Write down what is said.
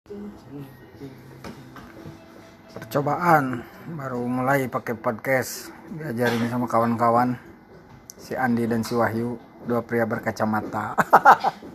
Percobaan baru mulai pakai podcast, diajarin sama kawan-kawan si Andi dan si Wahyu, dua pria berkacamata.